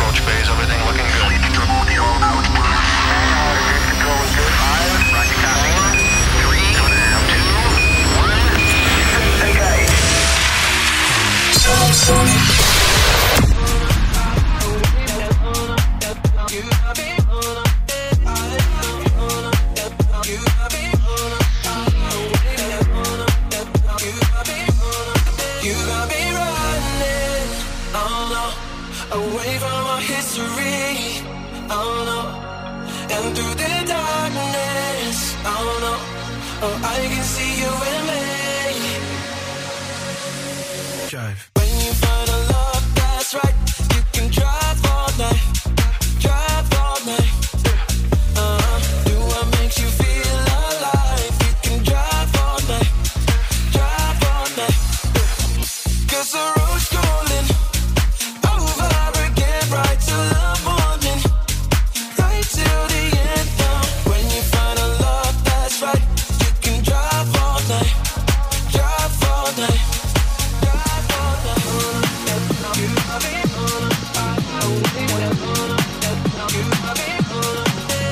approach phase. Everything looking good. Control is good. 5, roger copy. 3, 2, 1, engage. Away from our history, oh no. And through the darkness, oh no. Oh, I can see you in me. Drive. When you find a love that's right, you can drive all night. Drive all night. Do what makes you feel alive. You can drive all night. Drive all night. 'Cause the road's calling. Right till the morning, right till the end. Now, when you find a love that's right, you can drive all night, drive all night, drive all night. You got me on, you got me on, you got me on,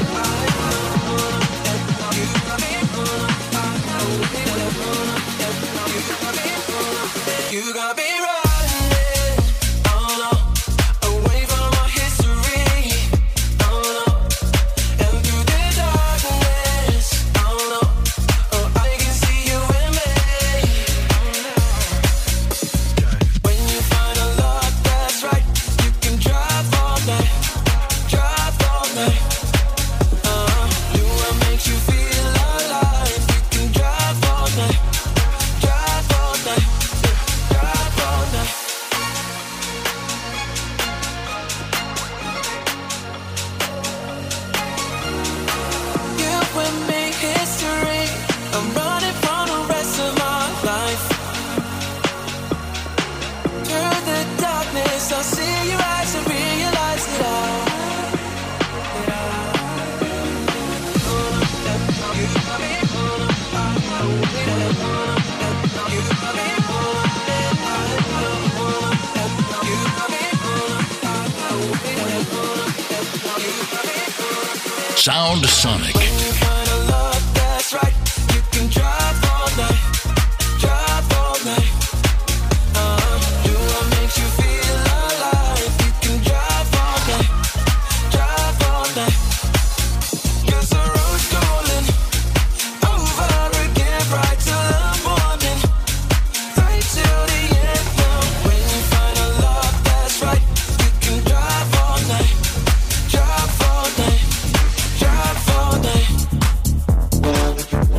you got me running. Sound Sonic. Drive all night.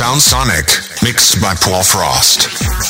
Sound Sonic, mixed by Paul Frost.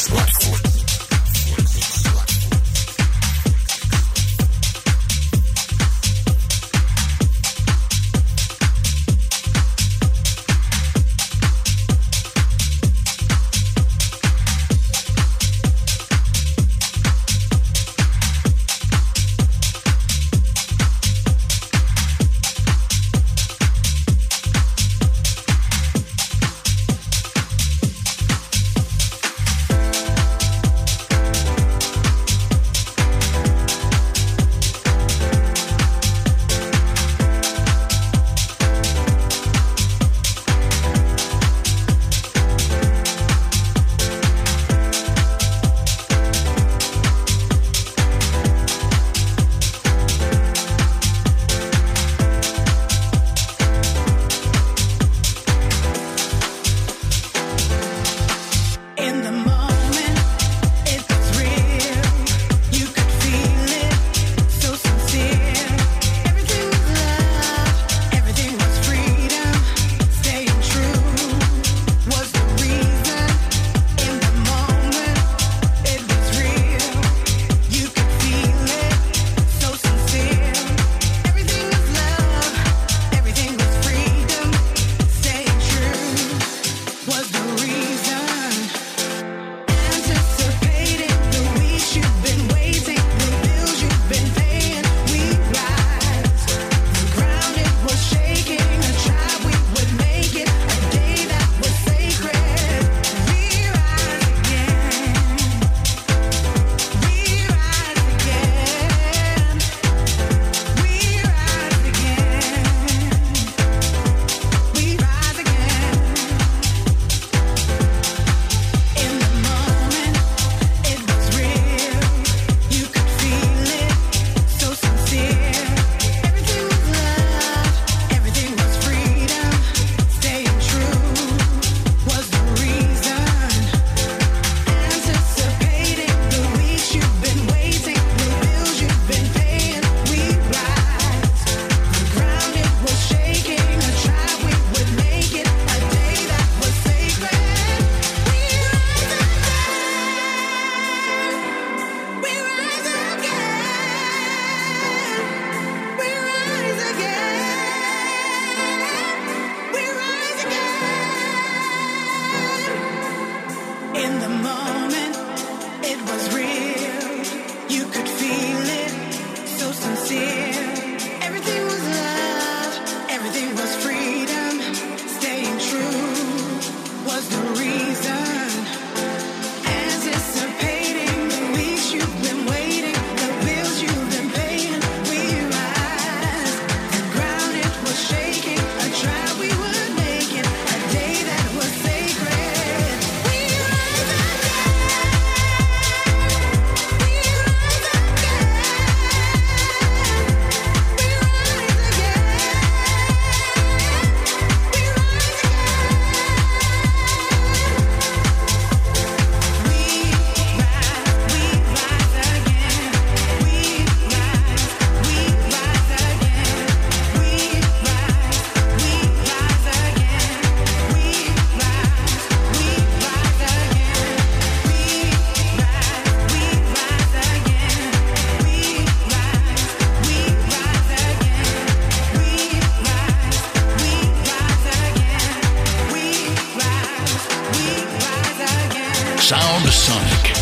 Sound Sonic.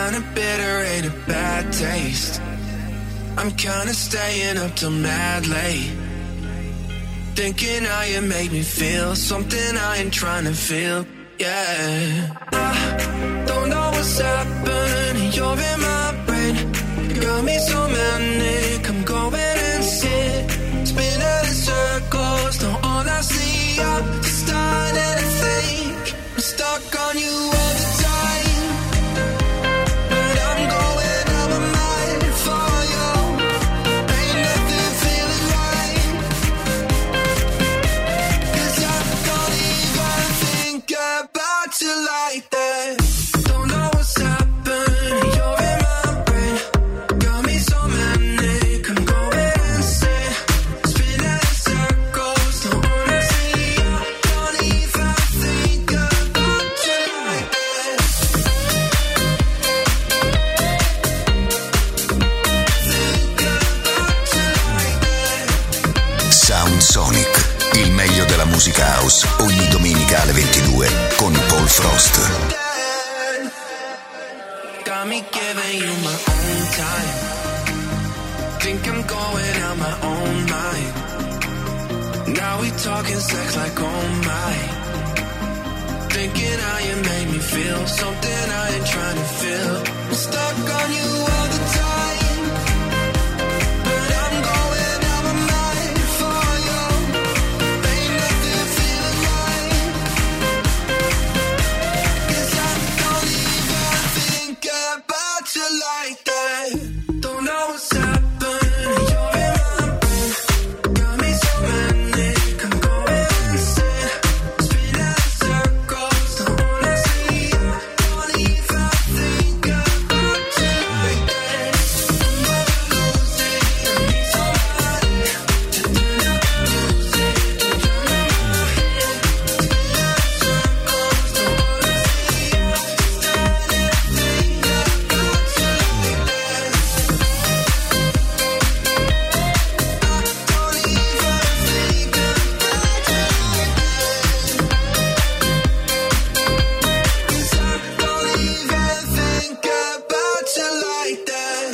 kinda bitter, ain't a bad taste. I'm kinda staying up till mad late, thinking how you make me feel something I ain't trying to feel. Yeah, I don't know what's happening. You're in my brain, got me so manic. I'm going insane, spinning in circles. Now all I see are starting to think I'm stuck on you all the time, but I'm going out of my mind for you. Ain't nothing feeling right, 'cause I don't even think about you like that. Don't know what's happening. You're in my brain, got me so manic. I'm going insane, spinning in circles. Don't wanna see you, don't even think about you like that. Think about you like that. Sound Sonic, il meglio della musica house, ogni domenica alle 22 con Paul Frost. Got me giving you my own time. Think I'm going out my own mind. Now we talking sex like oh my. Thinking how you make me feel something I ain't trying to feel. I'm stuck on you all the time, but I'm going out my mind for you. Ain't nothing feeling right, 'cause I don't even think about you like that. Don't know what's happening. You're in my brain, got me so manic. I'm going insane, spinning in circles. Don't wanna see you, don't even think about you like that. I'm never losing, I need somebody to turn up the music, to drown out my head. Spinning in circles, don't wanna see you, starting to think about you like that. Don't even think about you like that. 'Cause I don't even think about you like that.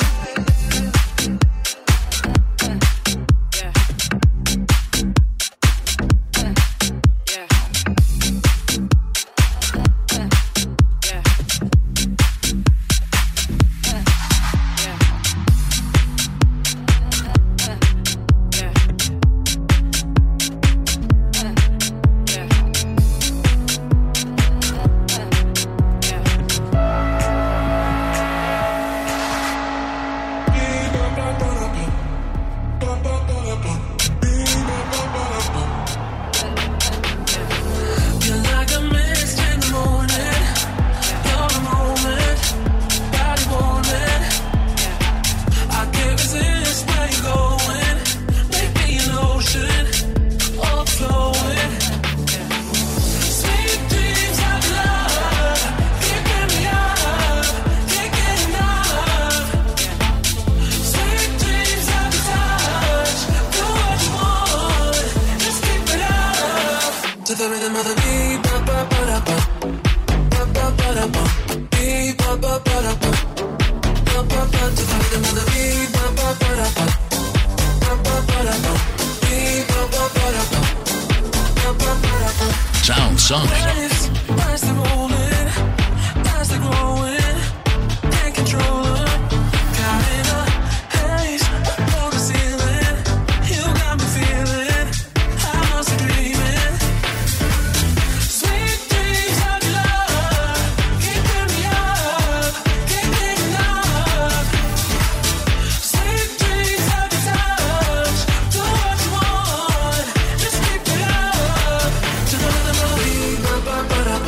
You're like a mist in the morning. You're the moment, body warming. I can't resist where you're going. Make me an ocean, overflowing. Sweet dreams of love, keeping me up, can't get enough. Sweet dreams of the touch, do what you want, just keep it up. To the rhythm of the beat, ba ba ba da ba, ba ba ba da ba, beat ba ba ba da ba, ba ba ba. To the rhythm of the beat, ba ba ba da ba, ba ba ba da ba, beat ba ba ba da ba, ba ba ba da ba. Sound Sonic. As they're rolling, as they're growing, can't control them. Caught in a haze, below the ceiling. You got me feeling, I must be dreaming. Sweet dreams of love, keeping me up, can't get enough. Sweet dreams of the touch, do what you want, just keep it up. To the rhythm of the beat, ba ba ba da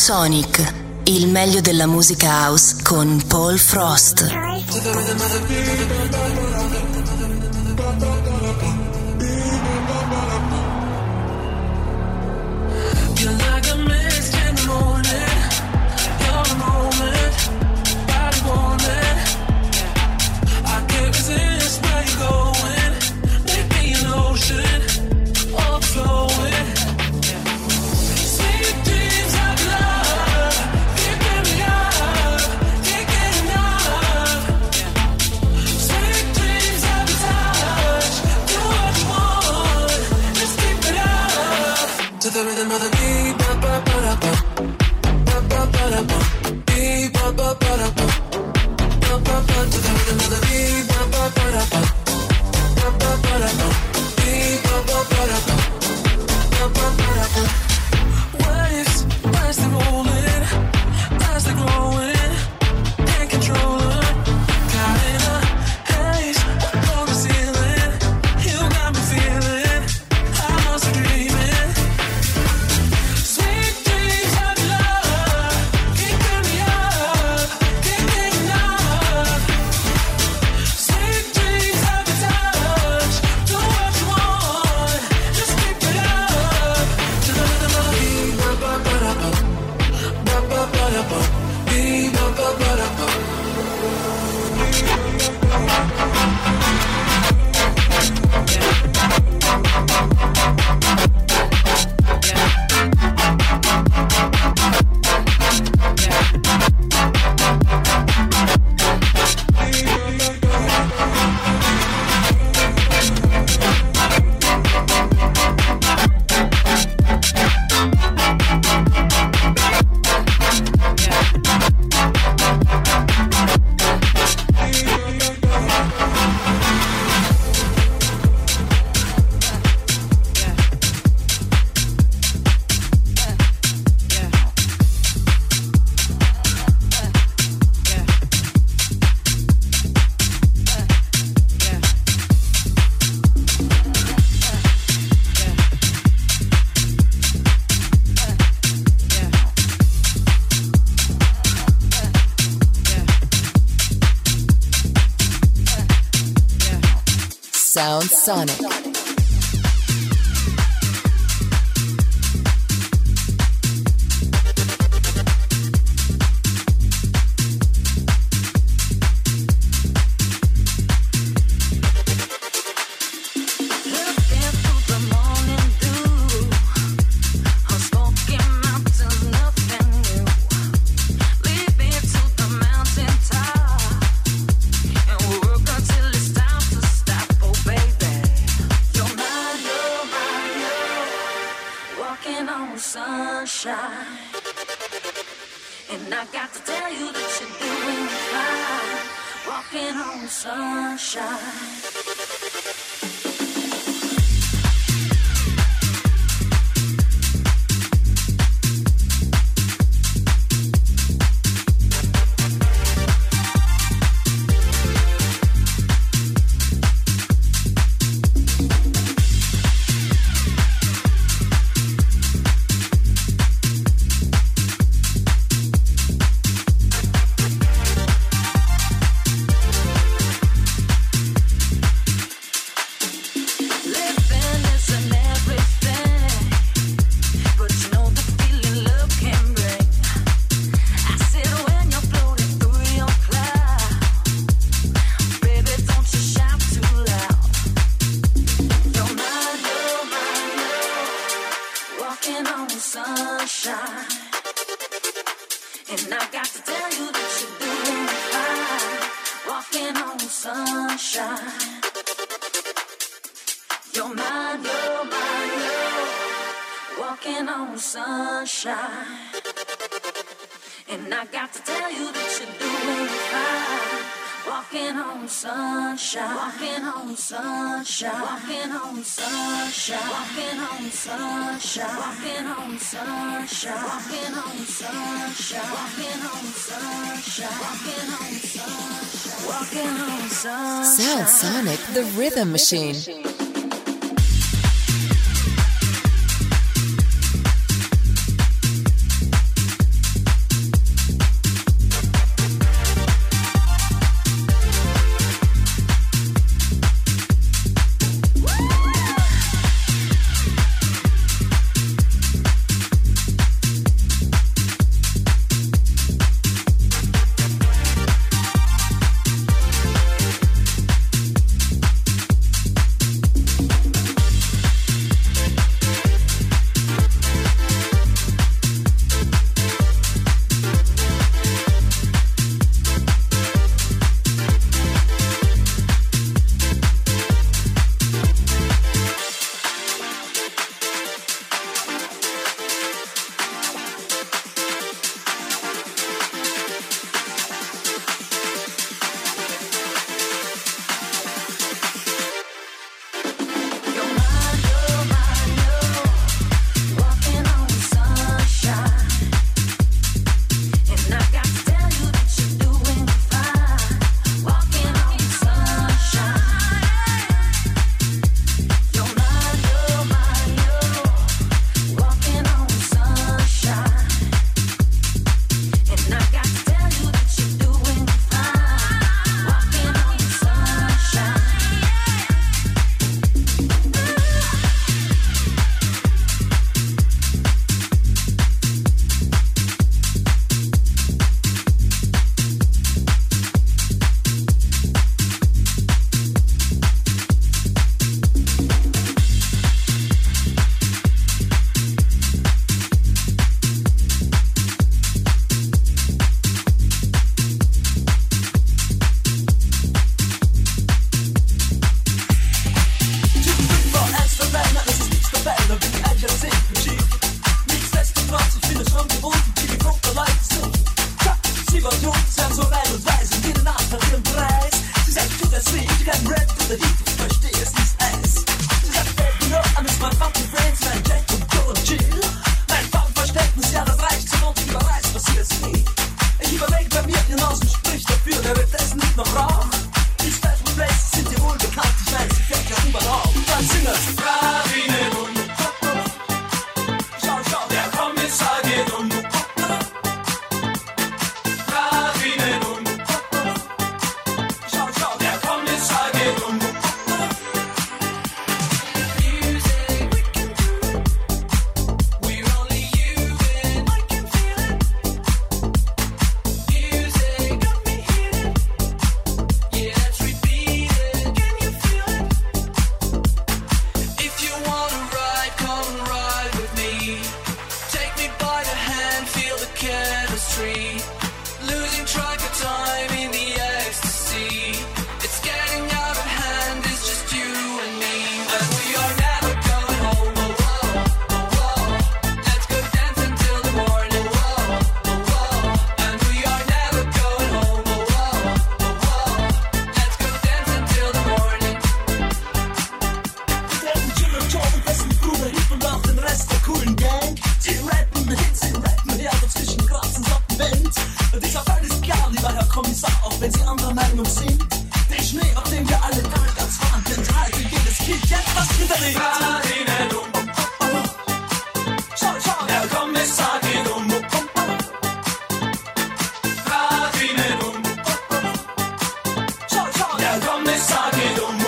Sonic, il meglio della musica house con Paul Frost. You're like a mist in the morning. You're the moment, body wanting. I can't resist where you're going. Make me an ocean, overflowing. Sweet dreams of love, keeping me up, can't get enough. Sweet dreams of touch, do what you want, just keep it up. To the rhythm of the beat, ba ba ba da ba, ba ba ba da ba, beat ba ba ba da ba, ba ba ba. To the rhythm of the beat, ba ba ba da ba, ba ba ba da ba, beat ba ba ba da ba, ba ba ba da ba. Waves, as they rolling, as they growing, can't control them. Caught in a haze, on the ceiling, you got me feeling, I must be dreaming. Sweet dreams of love, keeping me up, can't get enough. Sweet dreams of your touch, do what you want, just keep it up. To the rhythm of the beat, ba ba ba da ba, ba ba ba da ba, beat ba ba ba da ba. Sound Sonic. Sound Sonic, the rhythm machine. weil sie anderer Meinung sind. Den Schnee, auf dem wir alle damals waren, den halte jedes Kind jetzt was hinterlegt. Radine dumm, schau, schau, der Kommissar geht um. Radine dumm, schau, schau, der Kommissar geht um.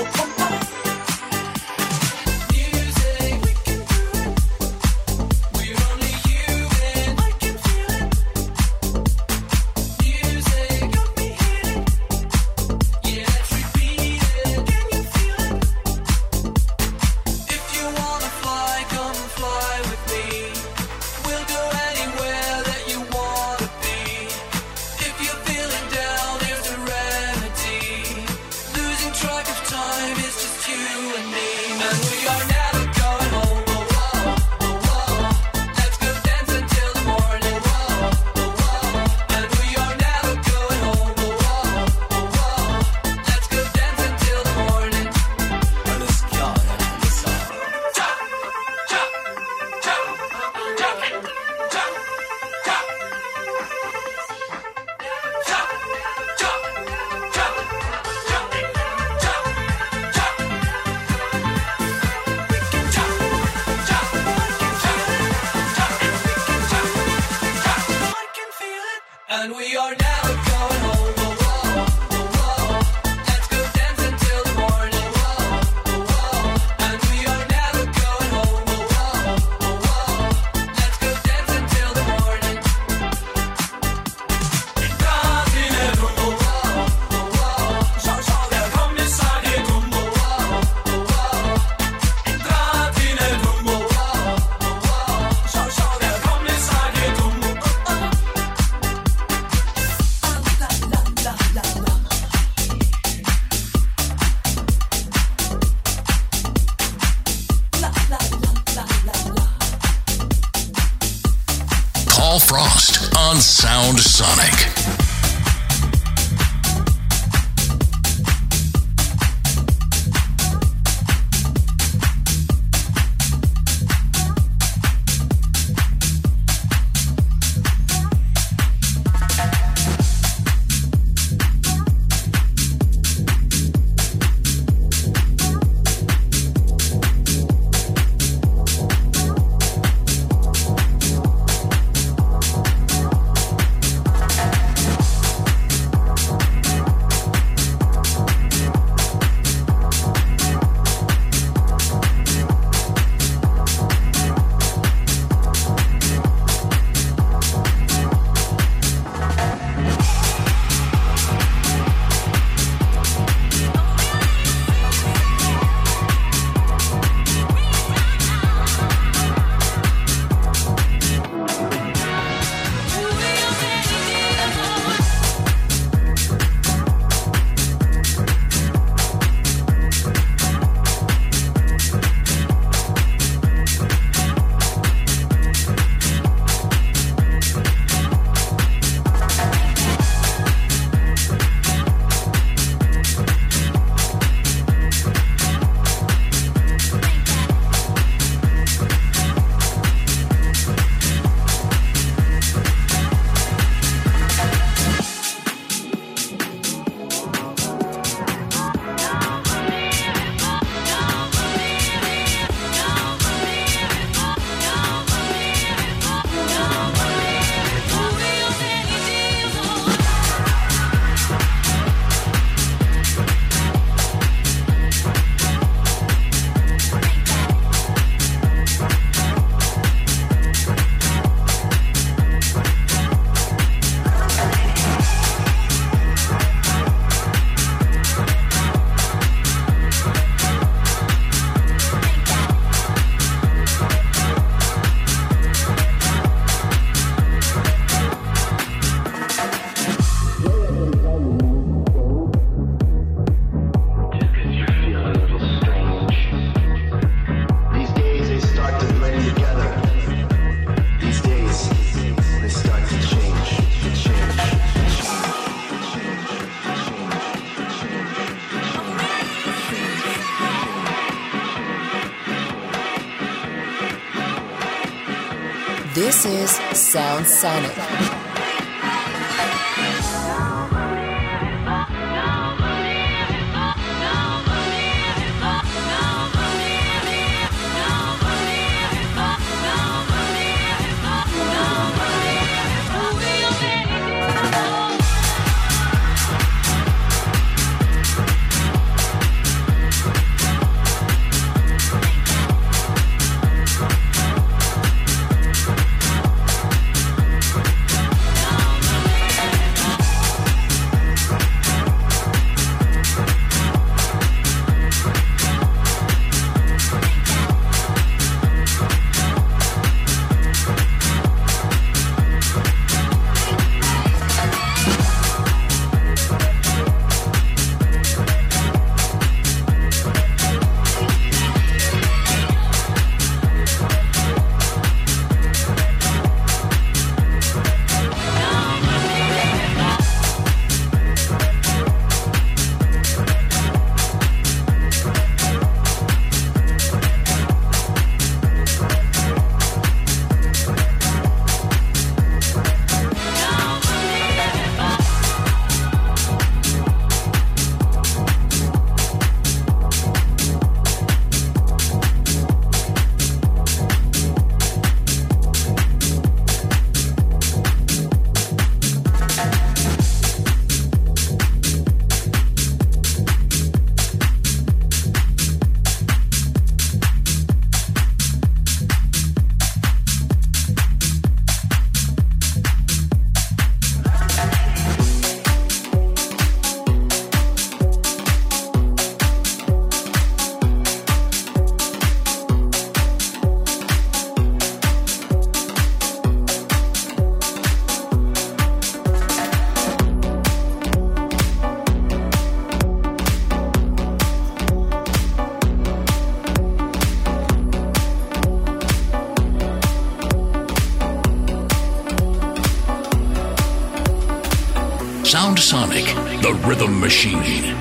Paul Frost on Sound Sonic. This is Sound Sonic. Sound Sonic, the rhythm machine.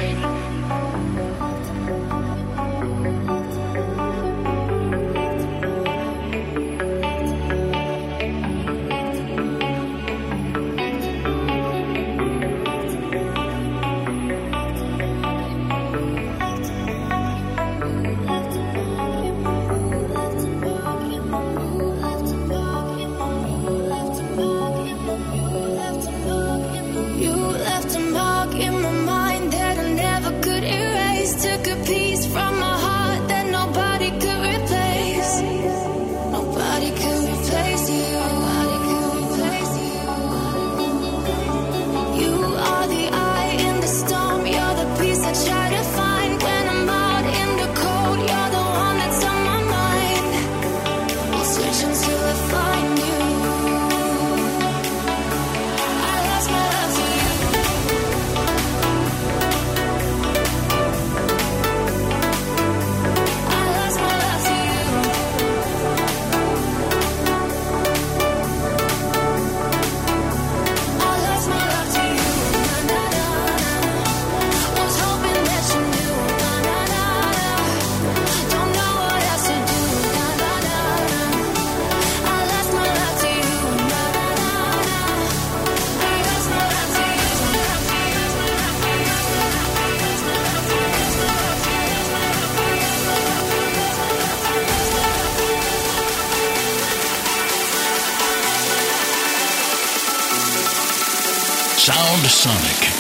Sound Sonic.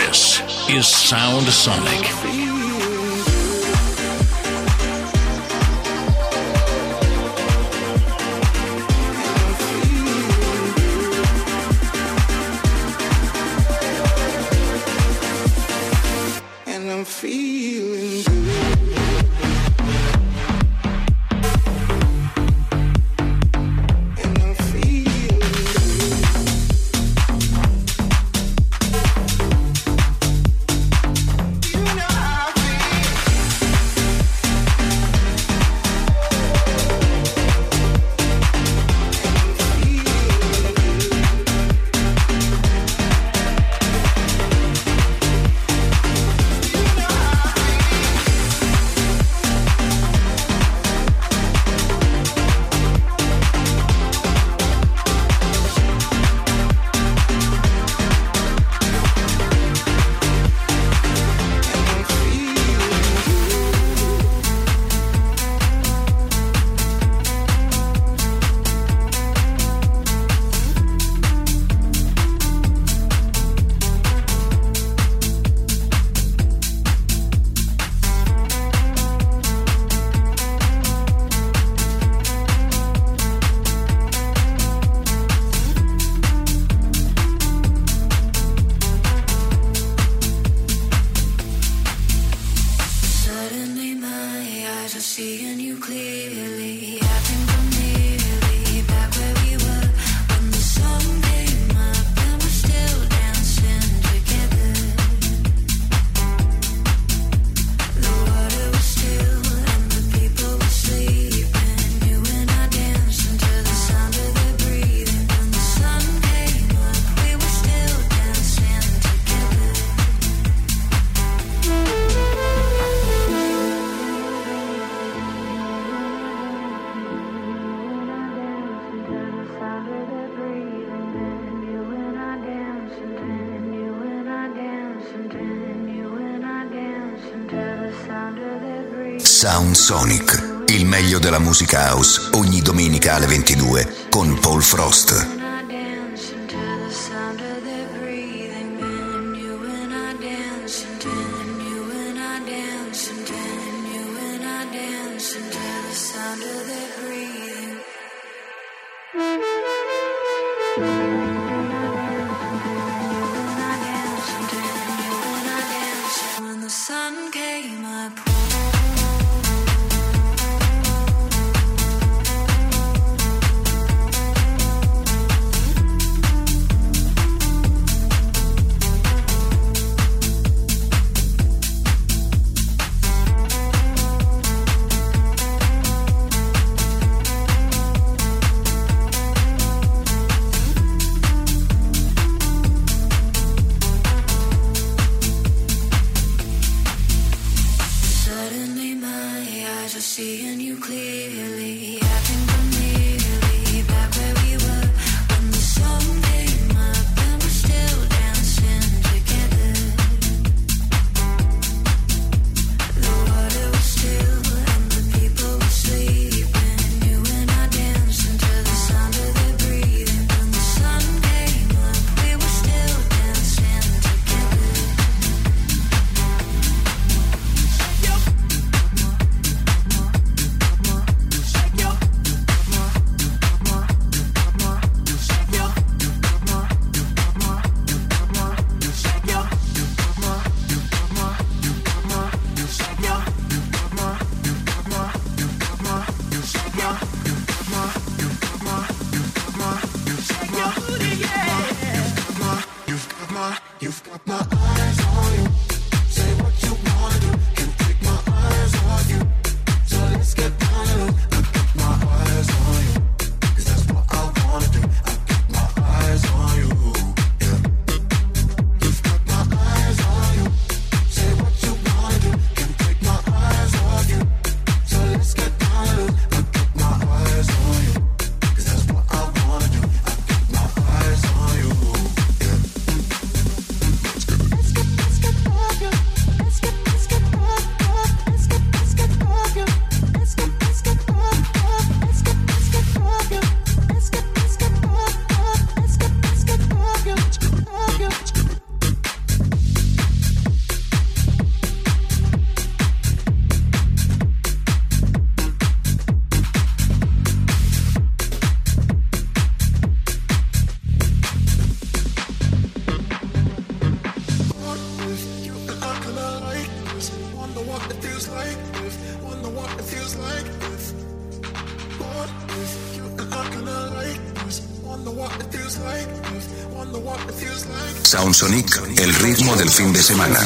This is Sound Sonic. Sound Sonic, il meglio della musica house, ogni domenica alle 22 con Paul Frost. Sound Sonic, el ritmo del fin de semana.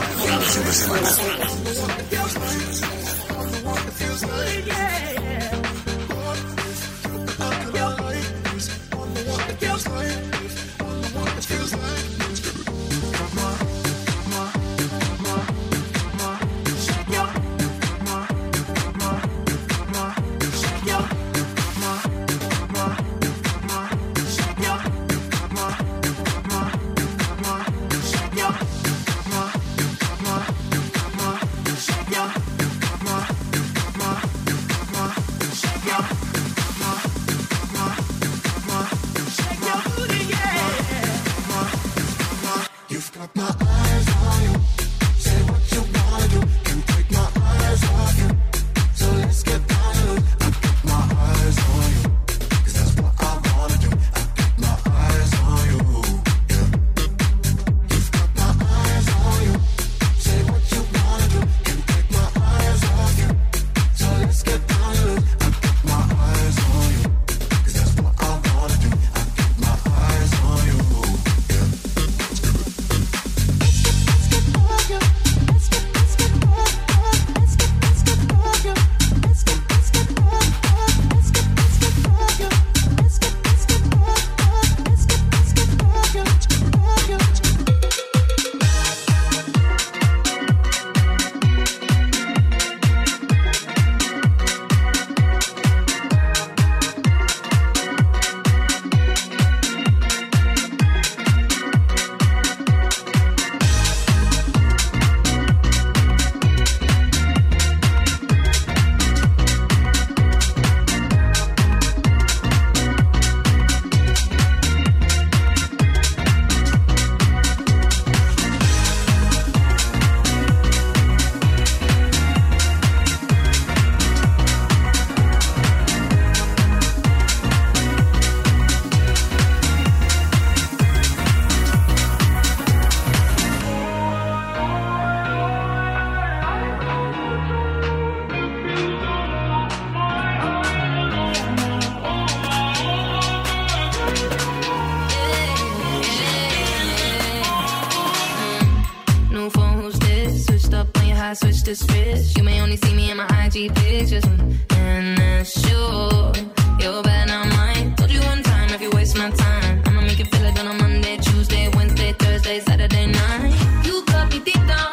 Switch to switch. You may only see me in my IG pictures, and that's sure you're bad, not mine. Told you one time, if you waste my time, I'ma make you feel it on a Monday, Tuesday, Wednesday, Thursday, Saturday night. You cut me deep down,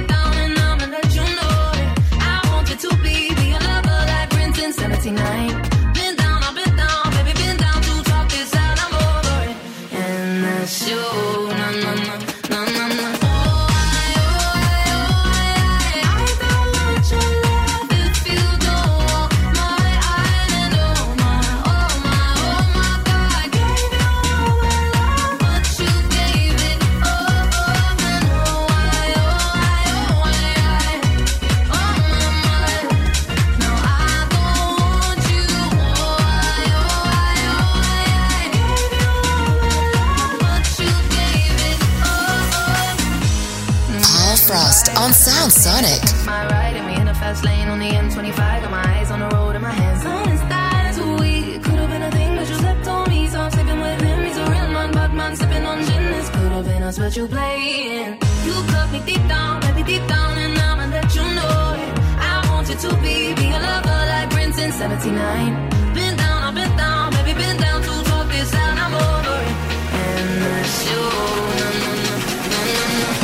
and I'ma let you know that I want you to be a lover like Prince in 79. Been down, I've been down, baby, been down to talk this out, I'm over it, and that's sure, no, no, no, no, no, no. On Sound Sonic. My ride and we in a fast lane on the M25. Got my eyes on the road and my hands on his thighs. We could have been a thing, but you slept on me, so I'm sleeping with him. He's a real man, but man sipping on gin. This could have been us, but you playing. You cut me deep down, baby, deep down, and I'ma let you know it. I want you to be a lover like Prince in 79. Been down, I've been down, baby, been down to talk this out, I'm over it, and that's you. No, no, no, no, no, no.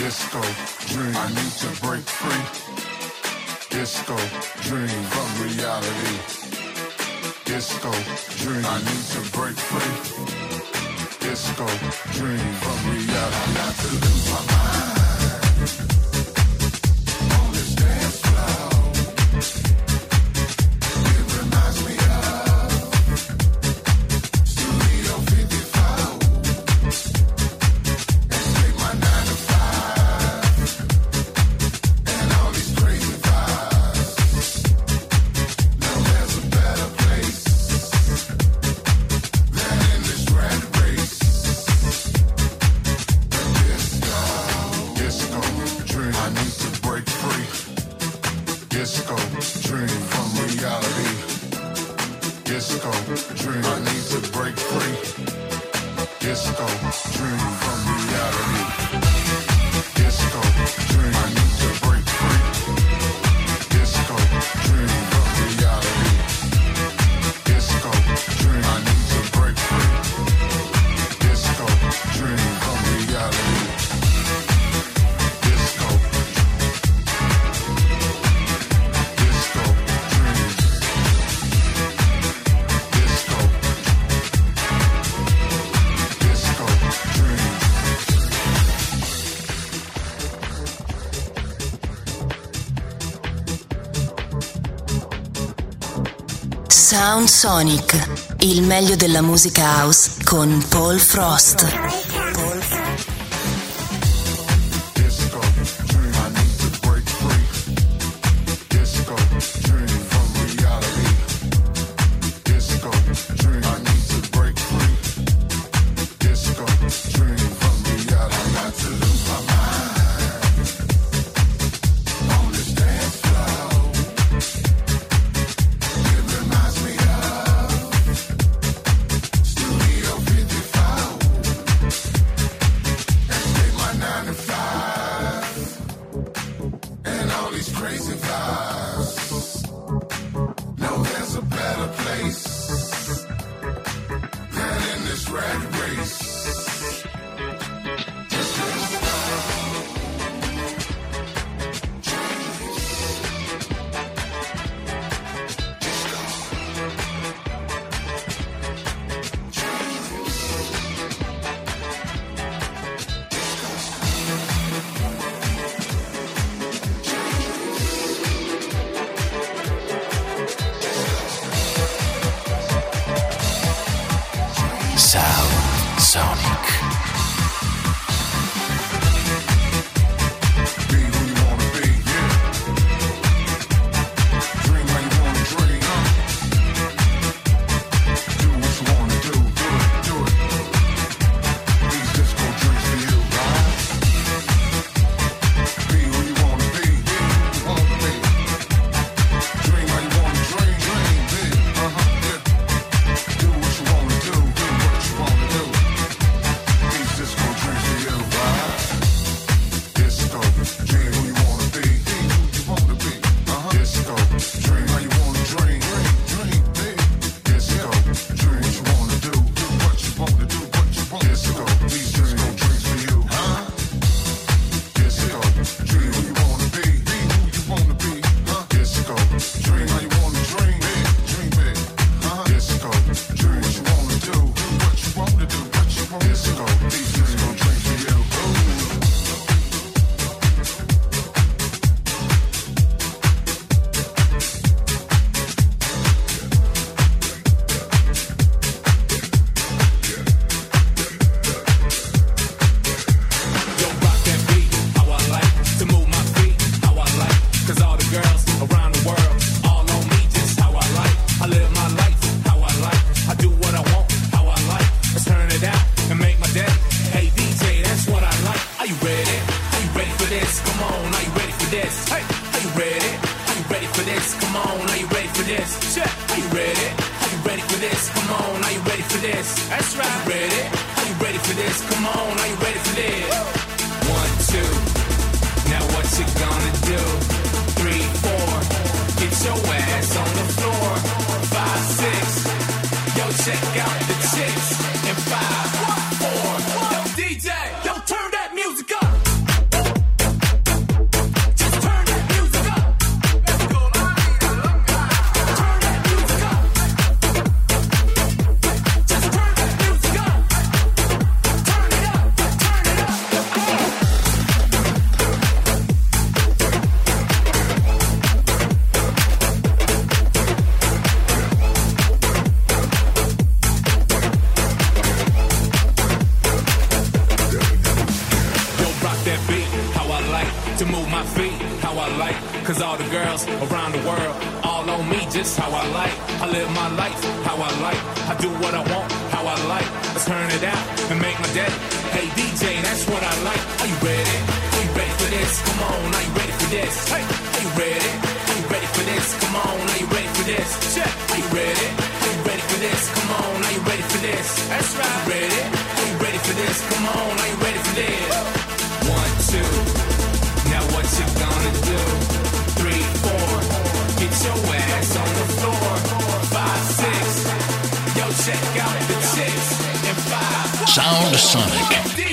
Disco dream. I need to break free. Disco dream from reality. Disco dream. I need to break free. Disco dream from reality. I got to lose my mind on this dance floor. It reminds me of Studio 54. And take my 9 to 5 and all these crazy vibes. Now there's a better place than in this rat race. Disco dream. I need to break free. Disco dream from reality. Disco dream. I need to break free. Disco dream from reality. Disco dream. I need to break free. Disco dream from reality. Disco dream. I need to break free. Disco dream from reality. Disco. Disco dream. Disco. Disco dream. Sound Sonic, il meglio della musica house con Paul Frost. Disco dream. I need to break free. Disco dream from reality. Disco dream. I need to break free. Disco dream from reality. I got to lose my mind on this dance floor. It reminds me of Studio 54. And take my 9 to 5 and all these crazy vibes. No, there's a better place than in this rat race. Just let's go. Sound Sonic. Be who you wanna be, yeah. Dream how you wanna dream, huh? Do what you wanna do, do it. These disco dreams for you, right? Be who you wanna be, yeah, who you wanna be. Dream how you wanna dream, big, yeah. Do what you wanna do, what you wanna do. These disco dreams for you, right? Disco dream who you wanna be, who you wanna be. Disco dream how you wanna dream, big. Disco dream what you wanna do, what you wanna do, what you wanna do. Disco, these disco dreams for you, huh? Disco dream who you wanna be, who you wanna be. Disco dream how you wanna dream big. Disco dream what you wanna do, what you wanna do, what you wanna do. Disco, these disco dreams for you. Yo, rock that beat, how I like to move my feet, how I like. 'Cause all the girls around the world, all on me, just how I like. I live my life, how I like. I do what I want, how I like. Let's turn it out and make my day. Hey DJ, that's what I like. Are you ready? Are you ready for this? Come on, are you ready for this? Hey, are you ready? Are you ready for this? Come on, are you ready for this? Check. Are you ready? Are you ready for this? Come on, are you ready for this? That's right. Are you ready? Are you ready for this? Come on, are you ready for this? 1, 2. Now what you gonna do? 3, 4. Get your ass on the floor. 5, 6. Yo, check out the chicks. And 5, 4. Yo, DJ, yo, turn that music up. to move my feet how I like. Cause all the girls around the world, all on me just how I like. I live my life how I like. I do what I want how I like. Let's turn it out and make my day. Hey DJ, that's what I like. Are you ready? Are you ready for this? Come on, are you ready for this? Hey, are you ready? Are you ready for this? Come on, are you ready for this? Check. Are you ready? Are you ready for this? Come on, are you ready for this? That's right. Are you ready? Are you ready for this? Come on, are you ready for this? 1, 2. Now what you gonna do? 3, 4. Get your ass on the floor. 5, 6. Yo, check out the chicks. And 5. Sound Sonic.